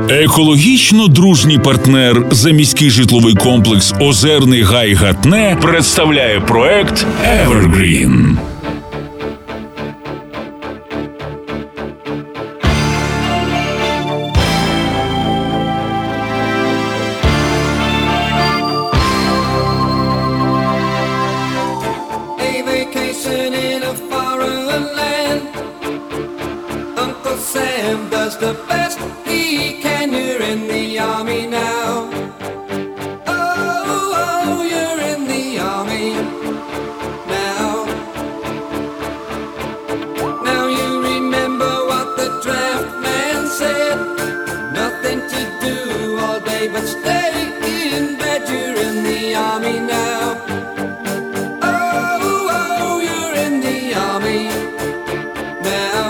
Екологічно дружній партнер заміський житловий комплекс «Озерний Гай Гатне» представляє проект Evergreen. The best he can, you're in the army now. Oh, you're in the army now. Now you remember what the draft man said. Nothing to do all day but stay in bed. You're in the army now. Oh, you're in the army now.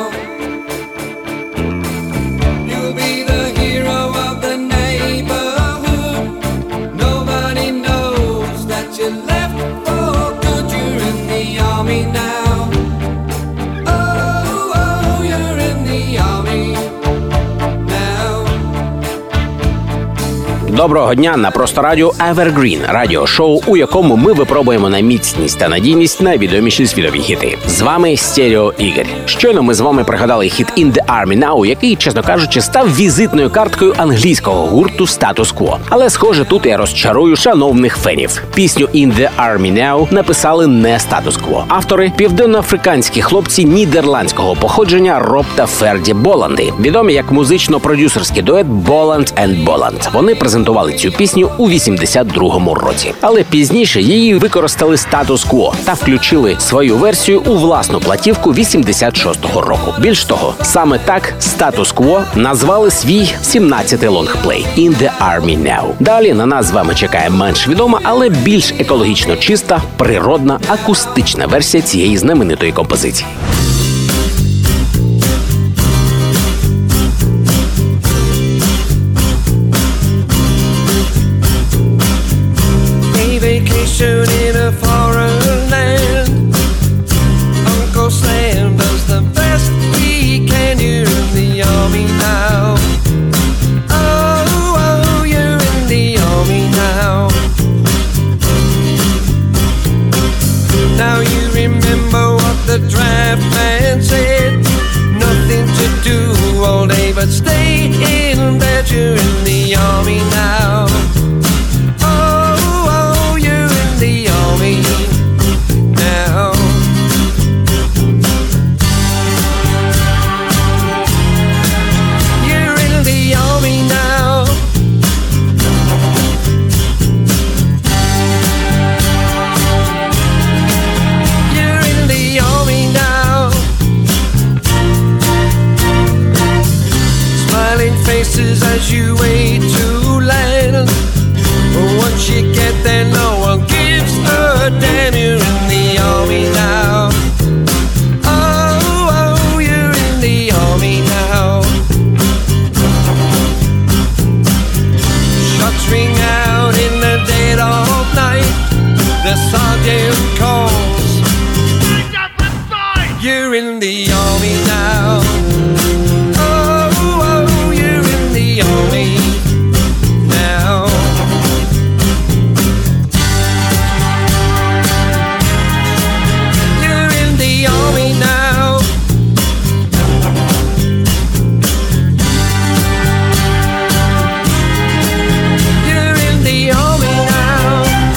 Доброго дня на Просто Радіо Evergreen – радіошоу, у якому ми випробуємо на міцність та надійність найвідоміші світові хіти. З вами Стерео Ігор. Щойно ми з вами пригадали хіт «In the Army Now», який, чесно кажучи, став візитною карткою англійського гурту Status Quo. Але, схоже, тут я розчарую шановних фенів. Пісню «In the Army Now» написали не Status Quo. Автори – південноафриканські хлопці нідерландського походження Роб та Ферді Боланди, відомі як музично-продюсерський дует Боланд & Боланд. Вони презентували цю пісню у 82-му році. Але пізніше її використали Status Quo та включили свою версію у власну платівку 86-го року. Більш того, саме так Status Quo назвали свій 17-й лонгплей «In the Army Now». Далі на нас з вами чекає менш відома, але більш екологічно чиста, природна, акустична версія цієї знаменитої композиції. In a foreign land, Uncle Sam does the best he can. You're in the army now. Oh, you're in the army now. Now you remember what the draft man said. Nothing to do all day but stay in bed. You're in the army now. As you wait to land, once you get there, no one gives a damn. You're in the army now. Oh, you're in the army now. Shots ring out in the dead of night. The sergeant calls. You're in the army now. Army now. You're in the army now. You're in the army now.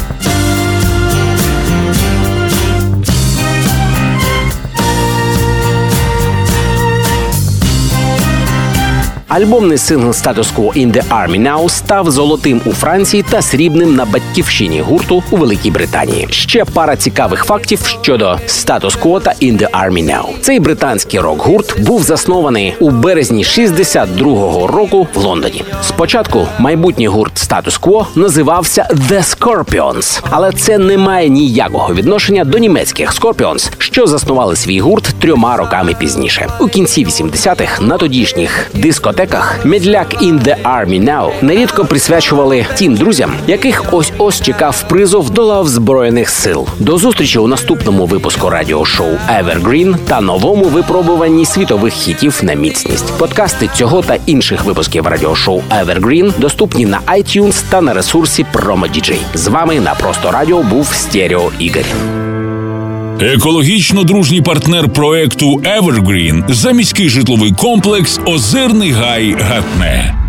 Альбомний сингл Status Quo «In the Army Now» став золотим у Франції та срібним на батьківщині гурту у Великій Британії. Ще пара цікавих фактів щодо Status Quo та «In the Army Now». Цей британський рок-гурт був заснований у березні 62-го року в Лондоні. Спочатку майбутній гурт Status Quo називався The Scorpions, але це не має ніякого відношення до німецьких Scorpions, що заснували свій гурт 3 роками пізніше. У кінці 80-х на тодішніх дискотеках дискотеках «Медляк in the Army Now» нерідко присвячували тим друзям, яких ось-ось чекав призов до лав Збройних сил. До зустрічі у наступному випуску радіошоу Evergreen та новому випробуванні світових хітів на міцність. Подкасти цього та інших випусків радіошоу Evergreen доступні на iTunes та на ресурсі PromoDJ. З вами на Просто Радіо був Стерео Ігор. Екологічно дружній партнер проекту Evergreen – заміський житловий комплекс «Озерний гай Гатне».